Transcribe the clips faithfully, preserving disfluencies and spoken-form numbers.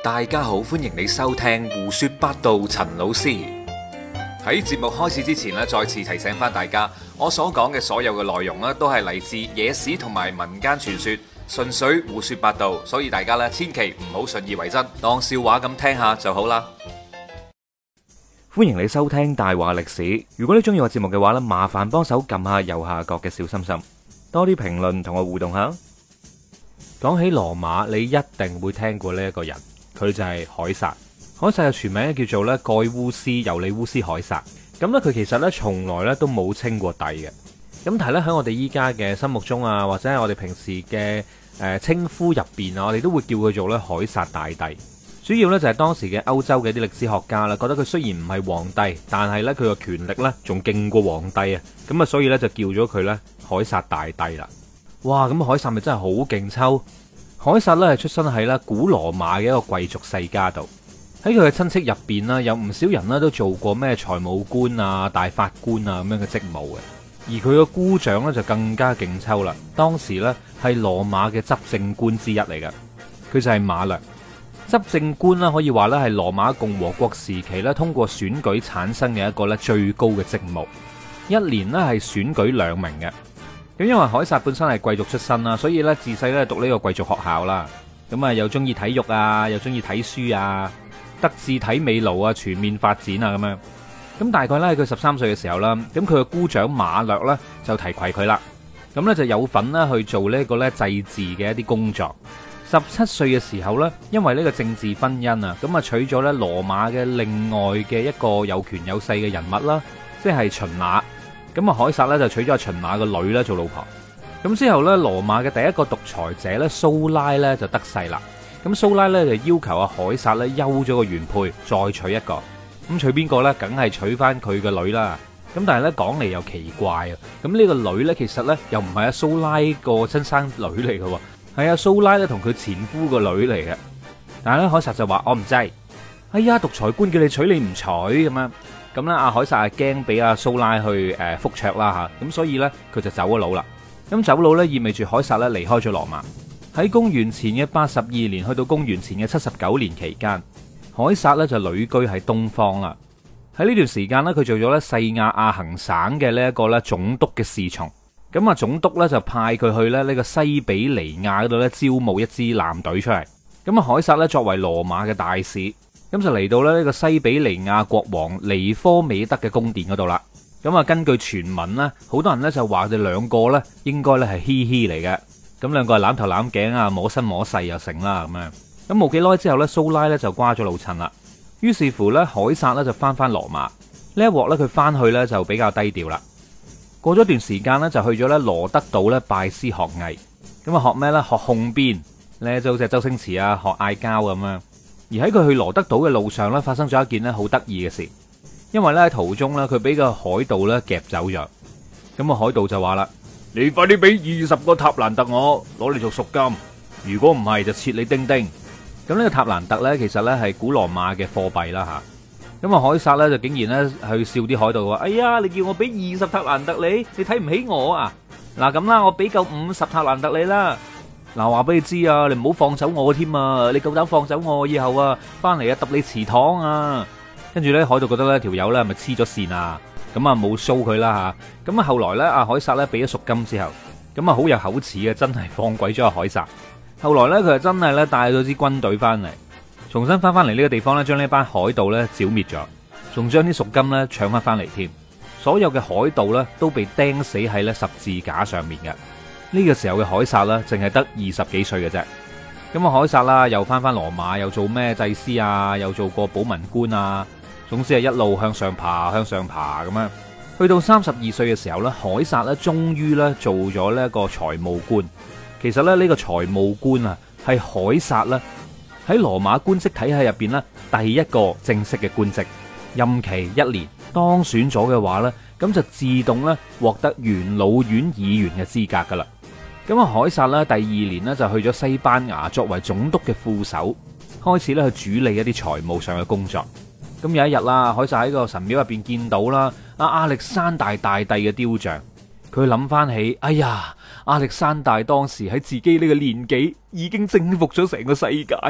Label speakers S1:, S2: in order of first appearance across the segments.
S1: 大家好，歡迎你收聽胡說八道。陳老師喺節目開始之前咧，再次提醒翻大家，我所講嘅所有嘅內容咧，都係嚟自野史同埋民間傳說，純粹胡說八道，所以大家咧千祈唔好信以為真，當笑話咁聽下就好啦。歡迎你收聽大話歷史。如果你中意我節目嘅話咧，麻煩幫手撳下右下角嘅小心心，多啲評論同我互動下。講起羅馬，你一定會聽過呢一個人，佢就係凱撒。凱撒嘅全名叫做咧蓋烏斯尤利烏斯凱撒。咁咧佢其實咧從來咧都冇稱過帝嘅。咁但係咧喺我哋依家嘅心目中啊，或者係我哋平時嘅誒稱呼入邊啊，我哋都會叫佢做咧凱撒大帝。主要咧就係當時嘅歐洲嘅啲歷史學家啦，覺得佢雖然唔係皇帝，但係咧佢個權力咧仲勁過皇帝啊，咁啊所以咧就叫咗佢咧凱撒大帝啦。哇，咁凱撒咪真係好勁抽！凱撒咧係出生喺咧古羅馬嘅一個貴族世家度，喺佢嘅親戚入邊啦，有唔少人咧都做過咩財務官啊、大法官啊咁樣嘅職務嘅，而佢嘅姑丈咧就更加勁抽啦。當時咧係羅馬嘅執政官之一嚟嘅，佢就係馬略。執政官啦，可以話咧係羅馬共和國時期咧通過選舉產生嘅一個咧最高嘅職務，一年咧係選舉兩名嘅。咁因為凱撒本身係貴族出身啦，所以咧自細咧讀呢個貴族學校啦，咁啊又中意體育啊，又中意睇書啊，德智體美勞啊全面發展啊咁樣。咁大概咧喺佢十三歲嘅時候啦，咁佢嘅姑丈馬略咧就提攜佢啦，咁咧就有份咧去做呢個咧祭祀嘅一啲工作。十七歲嘅時候呢，因為呢個政治婚姻啊，咁啊娶咗咧羅馬嘅另外嘅一個有權有勢嘅人物啦，即係秦雅。咁啊，凱撒咧就娶咗秦雅個女咧做老婆。咁之後咧，羅馬嘅第一個獨裁者咧蘇拉咧就得勢啦。咁蘇拉咧就要求阿凱撒咧休咗個原配，再娶一個。咁娶邊個咧？梗係娶翻佢個女啦。咁但係咧講嚟又奇怪啊。咁呢個女咧其實咧又唔係阿蘇拉個親生女嚟嘅。係阿蘇拉咧同佢前夫個女嚟嘅，但係咧凱撒就話我唔制，哎呀獨裁官叫你娶你唔娶咁樣，咁咧阿凱撒係驚俾阿蘇拉去誒復卓啦吓，咁所以咧佢就走咗佬啦。咁走佬咧意味住凱撒咧離開咗羅馬。喺公元前嘅八十二年去到公元前嘅七十九年期間，凱撒咧就旅居喺東方啦。喺呢段時間咧佢做咗咧西亞亞行省嘅呢一個咧總督嘅侍從。咁啊，總督咧就派佢去咧呢個西比尼亞嗰度咧招募一支艦隊出嚟。咁啊，凱撒咧作為羅馬嘅大使，咁就嚟到咧呢個西比尼亞國王尼科美德嘅宮殿嗰度啦。咁啊，根據傳聞咧，好多人咧就話佢哋兩個咧應該咧係嘻嘻嚟嘅。咁兩個係攬頭攬頸啊，摸身摸勢又成啦咁樣。咁冇幾耐之後咧，蘇拉咧就瓜咗老襯啦。於是乎咧，凱撒咧就翻翻羅馬。呢一鑊咧佢翻去咧就比較低調啦。過咗段時間咧，就去咗咧羅德島咧拜師學藝。咁啊學咩咧？學控鞭咧，就好似周星馳啊學嗌交咁樣。而喺佢去羅德島嘅路上咧，發生咗一件咧好得意嘅事。因為咧喺途中咧，佢俾個海盜咧夾走咗。咁啊海盜就話啦：你快啲俾二十個塔蘭特我，攞嚟做贖金。如果唔係就切你丁丁。咁呢個塔蘭特咧，其實咧係古羅馬嘅貨幣啦吓。咁啊，凱撒咧就竟然咧去笑啲海盜話：哎呀，你叫我俾二十塔蘭特你，你睇唔起我啊？嗱咁啦，我俾夠五十塔蘭特你啦。嗱，話俾你知啊，你唔好放走我添啊！你夠膽放走我以後啊，翻嚟啊揼你祠堂啊！跟住咧，海盜覺得咧條友咧係咪黐咗線啊？咁啊冇 show 佢啦吓。咁啊後來咧，阿凱撒咧俾咗贖金之後，咁啊好有口齒嘅，真係放鬼咗阿凱撒。後來咧，佢係真係咧帶咗支軍隊翻嚟。重新翻翻嚟呢個地方咧，將呢班海盜咧剿滅咗，仲將啲贖金咧搶翻翻嚟添。所有嘅海盜咧都被釘死喺咧十字架上面嘅。呢個時候嘅凱撒咧，淨係得二十幾歲嘅啫。咁啊，凱撒啦，又翻翻羅馬，又做咩祭司啊，又做過保民官啊，總之係一路向上爬，向上爬咁樣。去到三十二歲嘅時候咧，凱撒咧終於咧做咗呢一個財務官。其實咧呢個財務官啊，係凱撒咧喺羅馬官職體系入邊咧，第一個正式嘅官職，任期一年，當選咗嘅話呢，咁就自動咧獲得元老院議員嘅資格噶啦。咁啊，凱撒咧第二年呢，就去咗西班牙作為總督嘅副手，開始咧去主理一啲財務上嘅工作。咁有一日啦，凱撒喺個神廟入邊見到啦阿亞歷山大大帝嘅雕像，佢諗翻起，哎呀，亞歷山大當時喺自己呢個年紀已經征服咗成個世界。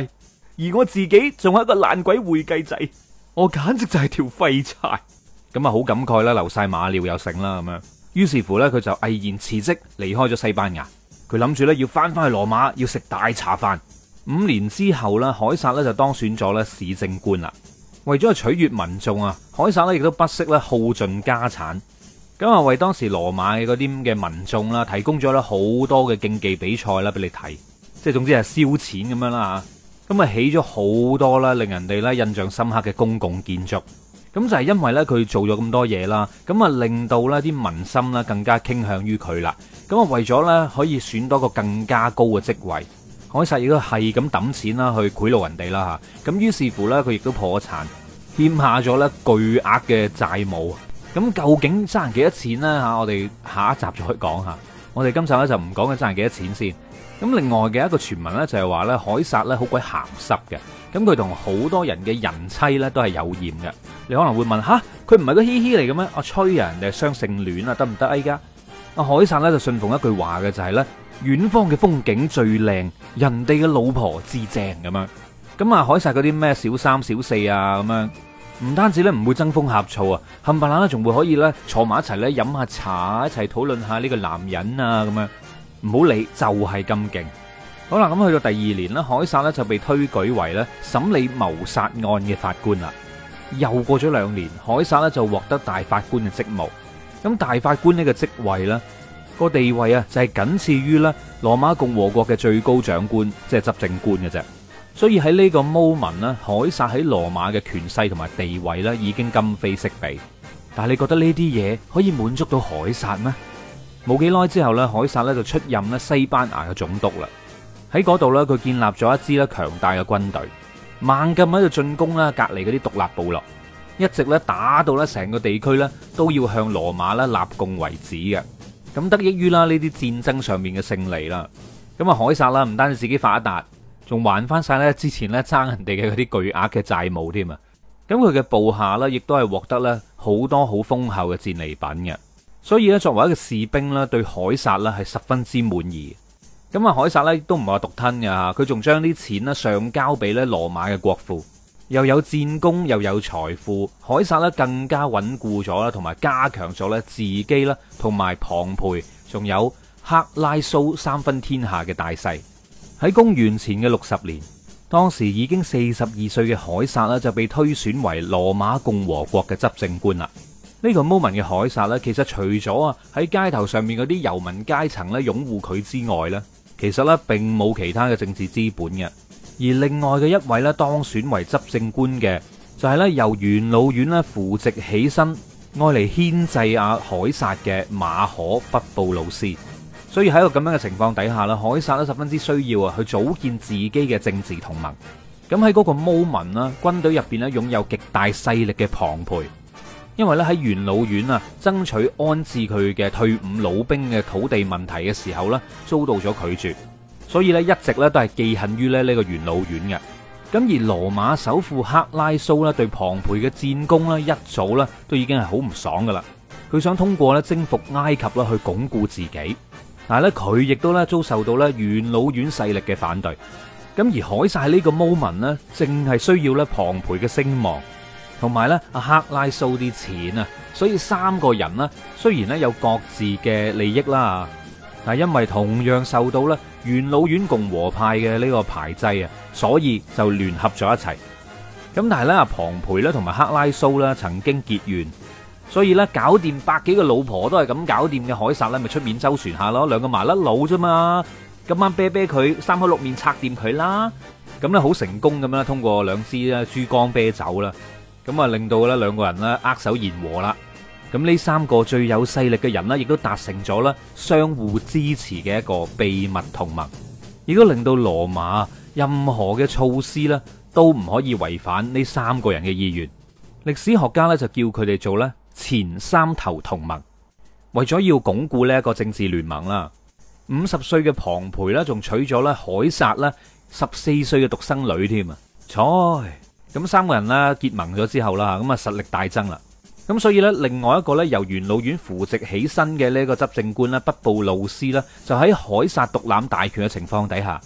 S2: 而我自己仲係一個爛鬼會計仔，我簡直就係條廢柴。咁啊，好感慨啦，流晒馬尿又成啦咁樣。於是乎呢，佢就毅然辭職離開咗西班牙。佢諗住呢，要翻翻去羅馬，要食大茶飯。五年之後呢，凱撒呢就當選咗咧市政官啦。為咗取悅民眾啊，凱撒呢亦都不惜咧耗盡家產。咁啊，為當時羅馬嘅嗰啲嘅民眾啦，提供咗咧好多嘅競技比賽啦俾你睇，即係總之係燒錢咁樣啦吓。咁啊，起咗好多啦，令人哋咧印象深刻嘅公共建築。咁就係因為咧佢做咗咁多嘢啦，咁啊令到咧啲民心咧更加傾向於佢啦。咁啊為咗咧可以選到個更加高嘅職位，凱撒亦都係咁抌錢啦去賄賂人哋啦吓。咁於是乎咧佢亦都破產，欠下咗咧巨額嘅債務。咁究竟爭人幾多錢呢？吓？我哋下一集再講下。我哋今集咧就唔講佢爭人幾多錢先。咁另外嘅一個傳聞咧就係話咧凱撒咧好鬼鹹濕嘅。咁佢同好多人嘅人妻咧都係有艷嘅。你可能會問吓，佢唔係個嘻嘻嚟嘅咩？我吹啊，人哋係雙性戀啊，得唔得啊？依家阿凱撒咧就信奉一句話嘅，就係咧遠方嘅風景最靚，人哋嘅老婆至正咁樣。咁啊凱撒嗰啲咩小三小四啊咁樣，唔單止咧唔會爭風呷醋啊，冚唪唥咧仲會可以咧坐埋一齊咧飲下茶，一齊討論下呢個男人啊咁樣。唔好理，就係咁勁。好啦，咁去到第二年咧，凱撒咧就被推舉為咧審理謀殺案嘅法官啦。又過咗兩年，凱撒咧就獲得大法官嘅職務。咁大法官呢個職位咧，個地位啊就係僅次於咧羅馬共和國嘅最高長官，即係執政官嘅啫。所以喺呢個 moment 咧，凱撒喺羅馬嘅權勢同埋地位咧已經今非昔比。但係你覺得呢啲嘢可以滿足到凱撒咩？冇幾耐之後咧，凱撒咧就出任咧西班牙嘅總督啦。喺嗰度咧，佢建立咗一支咧強大嘅軍隊，猛咁喺度進攻啦隔籬嗰啲獨立部落，一直咧打到咧成個地區咧都要向羅馬咧納貢為止嘅。咁得益於啦呢啲戰爭上面嘅勝利啦，咁啊凱撒啦唔單止自己發一達，仲還翻晒咧之前咧爭人哋嘅嗰啲巨額嘅債務添啊！咁佢嘅部下咧亦都係獲得咧好多好豐厚嘅戰利品嘅，所以咧作為一個士兵咧對凱撒咧係十分之滿意。咁啊，凱撒咧都唔係話獨吞嘅吓，佢仲將啲錢咧上交俾咧羅馬嘅國庫，又有戰功又有財富。凱撒咧更加穩固咗啦，同埋加強咗咧自己啦，同埋龐培仲有克拉蘇三分天下嘅大勢。喺公元前嘅六十年，當時已經四十二歲嘅凱撒咧就被推選為羅馬共和國嘅執政官啦。呢個 moment 嘅凱撒咧，其實除咗啊喺街頭上面嗰啲游民階層咧擁護佢之外咧，其實咧並冇其他嘅政治資本嘅。而另外嘅一位咧當選為執政官嘅，就係咧由元老院咧扶植起身，愛嚟牽制阿凱撒嘅馬可畢布魯斯。所以喺一個咁樣嘅情況底下啦，凱撒咧十分之需要啊去組建自己嘅政治同盟。咁喺嗰個 moment 啦，軍隊入邊咧擁有極大勢力嘅龐培，因為咧喺元老院啊爭取安置佢嘅退伍老兵嘅土地問題嘅時候咧，遭到咗拒絕，所以咧一直咧都係記恨於咧呢個元老院嘅。咁而羅馬首富克拉蘇咧對龐培嘅戰功咧一早咧都已經係好唔爽噶啦，佢想通過咧征服埃及啦去鞏固自己，但係咧佢亦都咧遭受到咧元老院勢力嘅反對。咁而凱撒喺呢個 moment 咧，正係需要咧龐培嘅聲望，同埋咧阿克拉蘇啲錢啊，所以三個人呢，雖然咧有各自嘅利益啦，但係因為同樣受到咧元老院共和派嘅呢個排擠啊，所以就聯合咗一齊。咁但係咧阿龐培咧同埋克拉蘇咧曾經結怨，所以咧搞掂百幾個老婆都係咁搞掂嘅凱撒咧，咪出面周旋下咯，兩個麻甩佬啫嘛。今晚啤啤佢三口六面拆掂佢啦，咁咧好成功咁樣通過兩支咧珠江啤酒啦，咁啊令到咧兩個人咧握手言和啦。咁呢三個最有勢力嘅人呢，亦都達成咗咧相互支持嘅一個秘密同盟，亦都令到羅馬任何嘅措施咧都唔可以違反呢三個人嘅意願。歷史學家咧就叫佢哋做咧前三頭同盟。為咗要鞏固呢一個政治聯盟啦，五十歲嘅龐培咧，仲娶咗咧凱撒咧十四歲嘅獨生女添啊！彩咁三個人咧結盟咗之後啦，咁啊實力大增啦。咁所以咧，另外一個咧由元老院扶植起身嘅呢個執政官咧畢布魯斯咧，就喺凱撒獨攬大權嘅情況底下，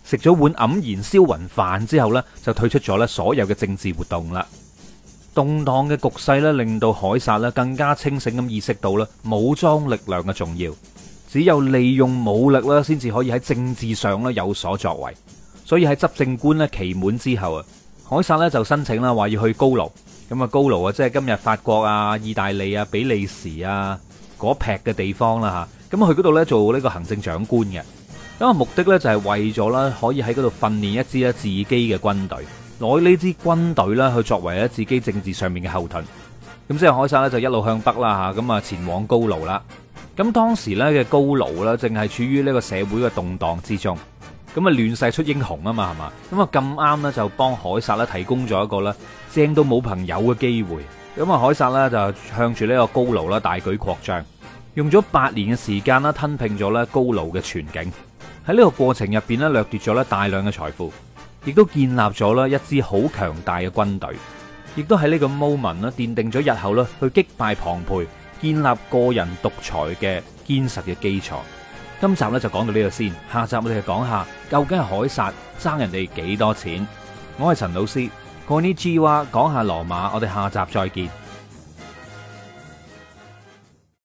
S2: 食咗碗黯然銷魂飯之後呢，就退出咗咧所有嘅政治活動啦。動盪嘅局勢咧，令到凱撒咧更加清醒咁意識到咧武裝力量嘅重要，只有利用武力咧，先至可以喺政治上咧有所作為。所以喺執政官咧期滿之後啊，凱撒咧就申請啦，話要去高盧。咁啊，高盧啊，即係今日法國啊、意大利啊、比利時啊嗰劈嘅地方啦吓。咁去嗰度咧做呢個行政長官嘅。咁啊，目的咧就係為咗啦，可以喺嗰度訓練一支咧自己嘅軍隊。攞呢支軍隊啦，去作為咧自己政治上面嘅後盾。咁之後凱撒咧就一路向北啦吓，咁啊前往高盧啦。咁當時咧嘅高盧啦，正係處於呢個社會嘅動盪之中。咁啊亂世出英雄啊嘛，係嘛？咁啊咁啱咧就幫凱撒咧提供咗一個咧正到冇朋友嘅機會。咁啊凱撒咧就向住呢個高盧啦大舉擴張，用咗八年嘅時間啦吞併咗咧高盧嘅全境。喺呢個過程入邊咧掠奪咗咧大量嘅財富。亦都建立咗啦一支好強大嘅軍隊，亦都喺呢個 moment 啦奠定咗日後啦去擊敗龐培、建立個人獨裁嘅堅實嘅基礎。今集咧就講到呢度先，下集我哋就講下究竟係凱撒爭人哋幾多錢。我係陳老師，Konnichiwa，講下羅馬，我哋下集再見。